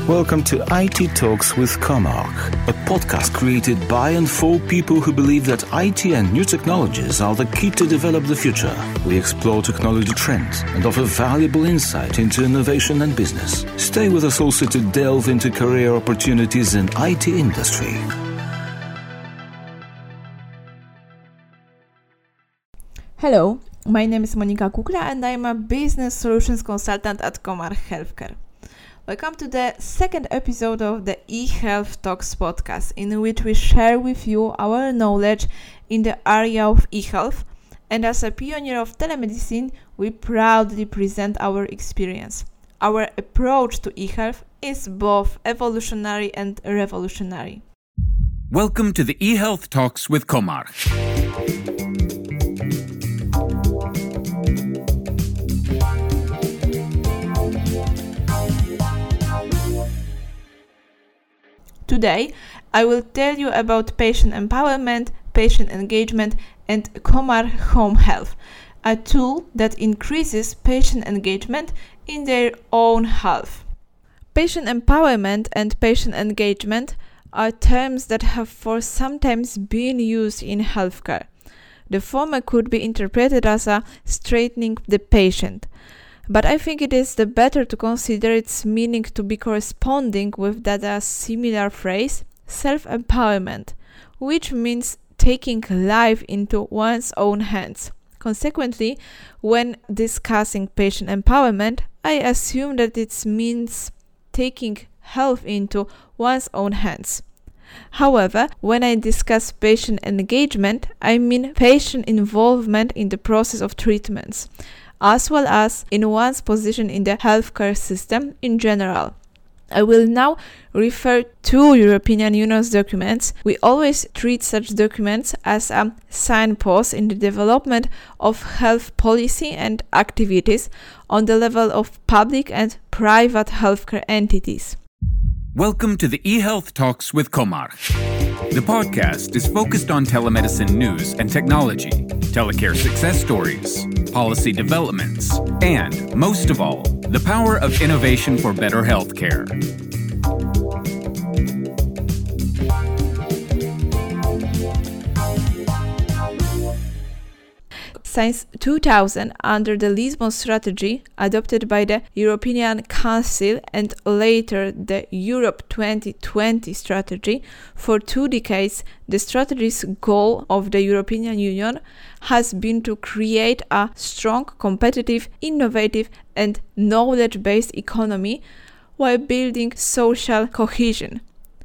Welcome to IT Talks with Comarch, a podcast created by and for people who believe that IT and new technologies are the key to develop the future. We explore technology trends and offer valuable insight into innovation and business. Stay with us also to delve into career opportunities in IT industry. Hello, my name is Monika Kukla and I am a business solutions consultant at Comarch Healthcare. Welcome to the second episode of the eHealth Talks podcast, in which we share with you our knowledge in the area of eHealth, and as a pioneer of telemedicine, we proudly present our experience. Our approach to eHealth is both evolutionary and revolutionary. Welcome to the eHealth Talks with Comarch. Today, I will tell you about patient empowerment, patient engagement, and Comarch Home Health, a tool that increases patient engagement in their own health. Patient empowerment and patient engagement are terms that have for sometimes been used in healthcare. The former could be interpreted as a straightening the patient, but I think it is the better to consider its meaning to be corresponding with that similar phrase, self-empowerment, which means taking life into one's own hands. Consequently, when discussing patient empowerment, I assume that it means taking health into one's own hands. However, when I discuss patient engagement, I mean patient involvement in the process of treatments, as well as in one's position in the healthcare system in general. I will now refer to European Union's documents. We always treat such documents as a signpost in the development of health policy and activities on the level of public and private healthcare entities. Welcome to the eHealth Talks with Comarch. The podcast is focused on telemedicine news and technology, telecare success stories, policy developments, and, most of all, the power of innovation for better healthcare. Since 2000, under the Lisbon Strategy, adopted by the European Council and later the Europe 2020 strategy, for 2 decades, the strategy's goal of the European Union has been to create a strong, competitive, innovative and knowledge-based economy while building social cohesion.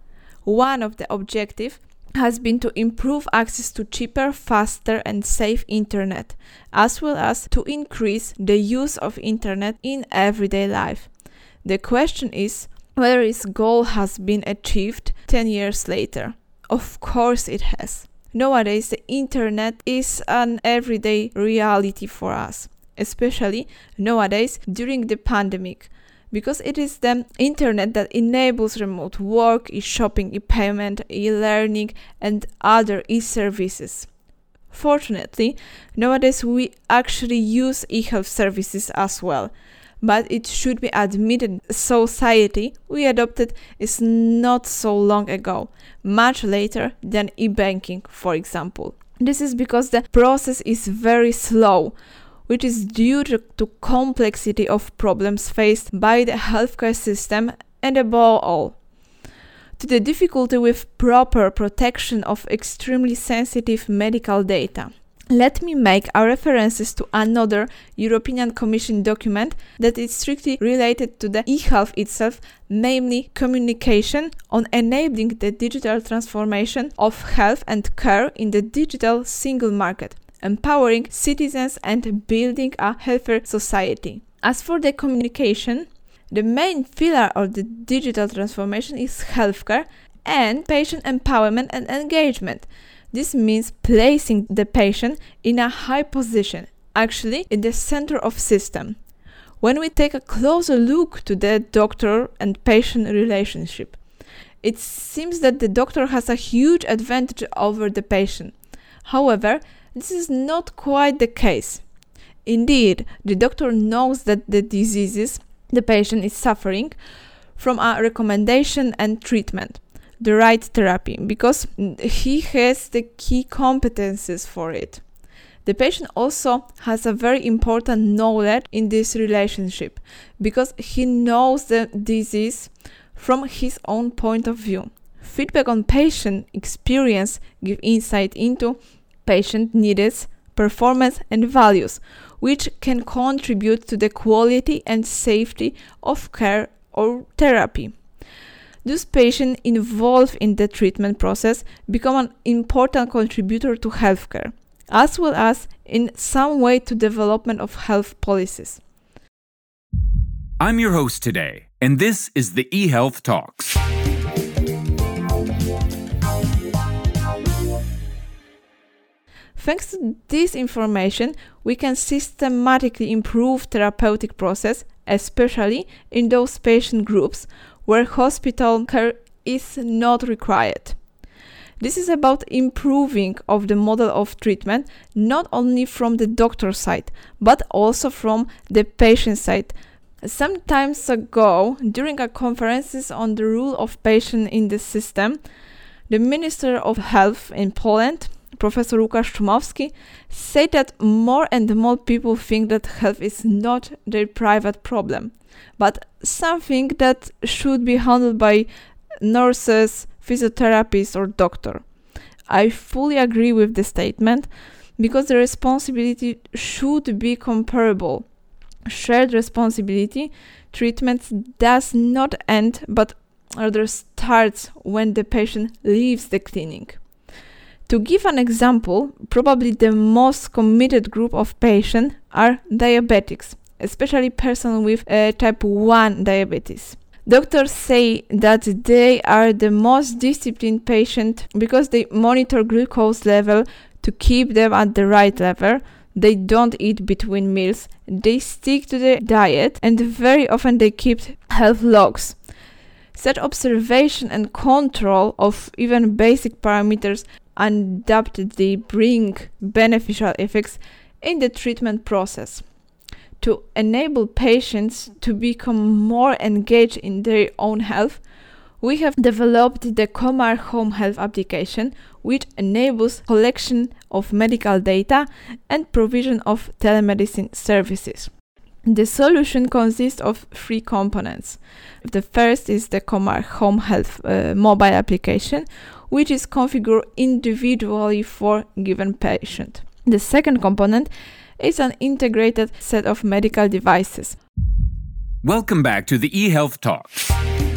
One of the objectives has been to improve access to cheaper, faster and safe internet, as well as to increase the use of internet in everyday life. The question is whether this goal has been achieved 10 years later. Of course it has. Nowadays the internet is an everyday reality for us, especially nowadays during the pandemic, because it is the internet that enables remote work, e-shopping, e-payment, e-learning and other e-services. Fortunately, nowadays we actually use e-health services as well, but it should be admitted society we adopted is not so long ago, much later than e-banking, for example. This is because the process is very slow, which is due to complexity of problems faced by the healthcare system and above all, to the difficulty with proper protection of extremely sensitive medical data. Let me make our references to another European Commission document that is strictly related to the eHealth itself, namely Communication on Enabling the Digital Transformation of Health and Care in the Digital Single Market, Empowering Citizens and Building a Healthier Society. As for the communication, the main pillar of the digital transformation is healthcare and patient empowerment and engagement. This means placing the patient in a high position, actually in the center of system. When we take a closer look to the doctor and patient relationship, it seems that the doctor has a huge advantage over the patient. However, this is not quite the case. Indeed, the doctor knows that the diseases the patient is suffering from a recommendation and treatment, the right therapy, because he has the key competencies for it. The patient also has a very important knowledge in this relationship because he knows the disease from his own point of view. Feedback on patient experience give insight into patient needs, performance and values, which can contribute to the quality and safety of care or therapy. Those patients involved in the treatment process become an important contributor to healthcare, as well as in some way to development of health policies. I'm your host today, and this is the eHealth Talks. Thanks to this information, we can systematically improve therapeutic process, especially in those patient groups where hospital care is not required. This is about improving of the model of treatment, not only from the doctor side, but also from the patient side. Some time ago, during a conferences on the role of patient in the system, the Minister of Health in Poland, Professor Łukasz Szumowski, said that more and more people think that health is not their private problem, but something that should be handled by nurses, physiotherapists or doctor. I fully agree with the statement because the responsibility should be comparable. Shared responsibility treatment does not end but rather starts when the patient leaves the clinic. To give an example, probably the most committed group of patients are diabetics, especially persons with type 1 diabetes. Doctors say that they are the most disciplined patients because they monitor glucose level to keep them at the right level. They don't eat between meals, they stick to the diet, and very often they keep health logs. Such observation and control of even basic parameters undoubtedly bring beneficial effects in the treatment process. To enable patients to become more engaged in their own health, we have developed the Comarch Home Health application, which enables collection of medical data and provision of telemedicine services. The solution consists of three components. The first is the Comarch Home Health mobile application, which is configured individually for given patient. The second component is an integrated set of medical devices. Welcome back to the eHealth Talks.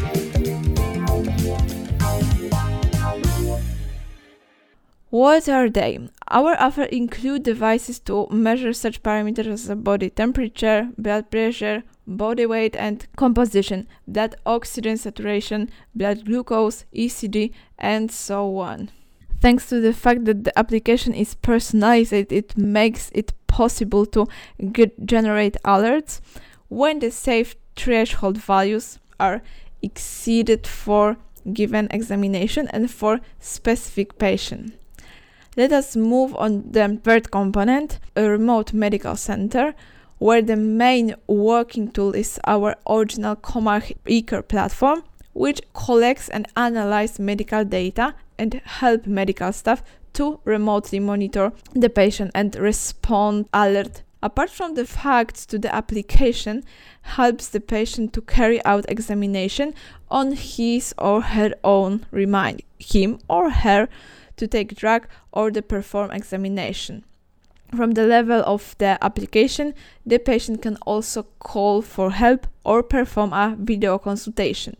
What are they? Our offer include devices to measure such parameters as body temperature, blood pressure, body weight and composition, blood oxygen saturation, blood glucose, ECG, and so on. Thanks to the fact that the application is personalized, it makes it possible to generate alerts when the safe threshold values are exceeded for given examination and for specific patient. Let us move on the third component, a remote medical center, where the main working tool is our original Comarch eCare platform, which collects and analyzes medical data and help medical staff to remotely monitor the patient and respond alert. Apart from the facts to the application helps the patient to carry out examination on his or her own, remind him or her to take drug or to perform examination. From the level of the application, the patient can also call for help or perform a video consultation.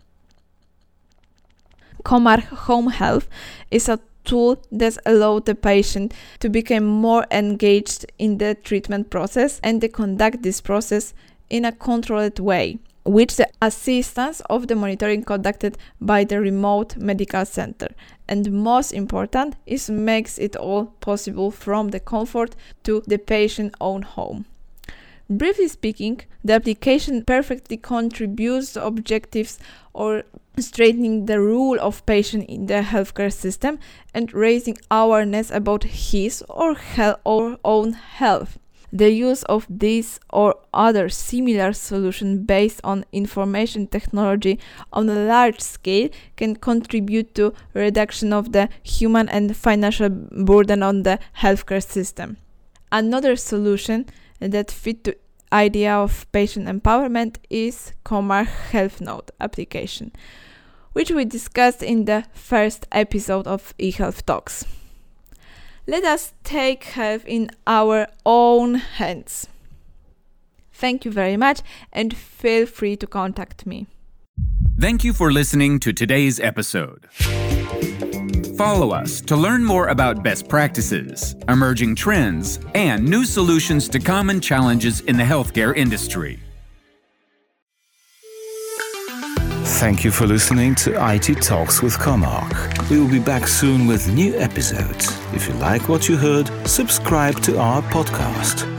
Comarch Home Health is a tool that allows the patient to become more engaged in the treatment process and to conduct this process in a controlled way, with the assistance of the monitoring conducted by the remote medical center. And most important is makes it all possible from the comfort to the patient's own home. Briefly speaking, the application perfectly contributes to objectives or strengthening the role of patient in the healthcare system and raising awareness about his or her own health. The use of this or other similar solution based on information technology on a large scale can contribute to reduction of the human and financial burden on the healthcare system. Another solution that fit the idea of patient empowerment is Comarch Health Note application, which we discussed in the first episode of eHealth Talks. Let us take health in our own hands. Thank you very much and feel free to contact me. Thank you for listening to today's episode. Follow us to learn more about best practices, emerging trends, and new solutions to common challenges in the healthcare industry. Thank you for listening to IT Talks with Comarch. We will be back soon with new episodes. If you like what you heard, subscribe to our podcast.